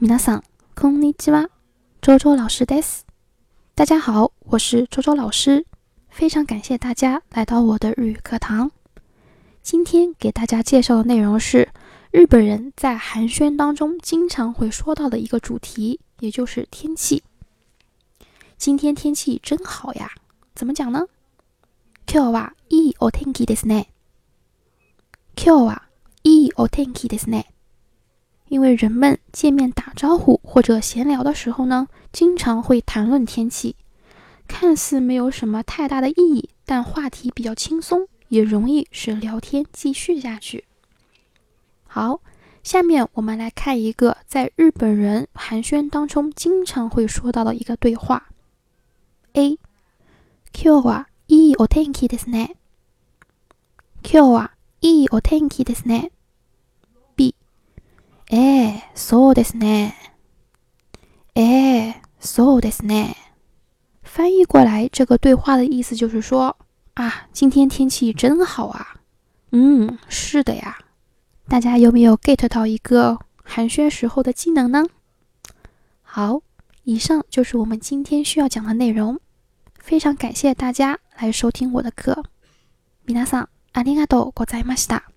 皆さん、こんにちは。周周老师です。大家好，我是周周老师，非常感谢大家来到我的日语课堂。今天给大家介绍的内容是日本人在寒暄当中经常会说到的一个主题，也就是天气。今天天气真好呀，怎么讲呢？今日はいいお天気ですね。今日はいいお天気ですね。因为人们见面打招呼或者闲聊的时候呢，经常会谈论天气，看似没有什么太大的意义，但话题比较轻松，也容易使聊天继续下去。好，下面我们来看一个在日本人寒暄当中经常会说到的一个对话。A. 今日はいいお天気ですね。今日はいいお天気ですね。B. そうですね。そうですね。翻译过来，这个对话的意思就是说，今天天气真好啊。是的呀。大家有没有 get 到一个寒暄时候的技能呢？好，以上就是我们今天需要讲的内容。非常感谢大家来收听我的课。皆さん、ありがとうございました。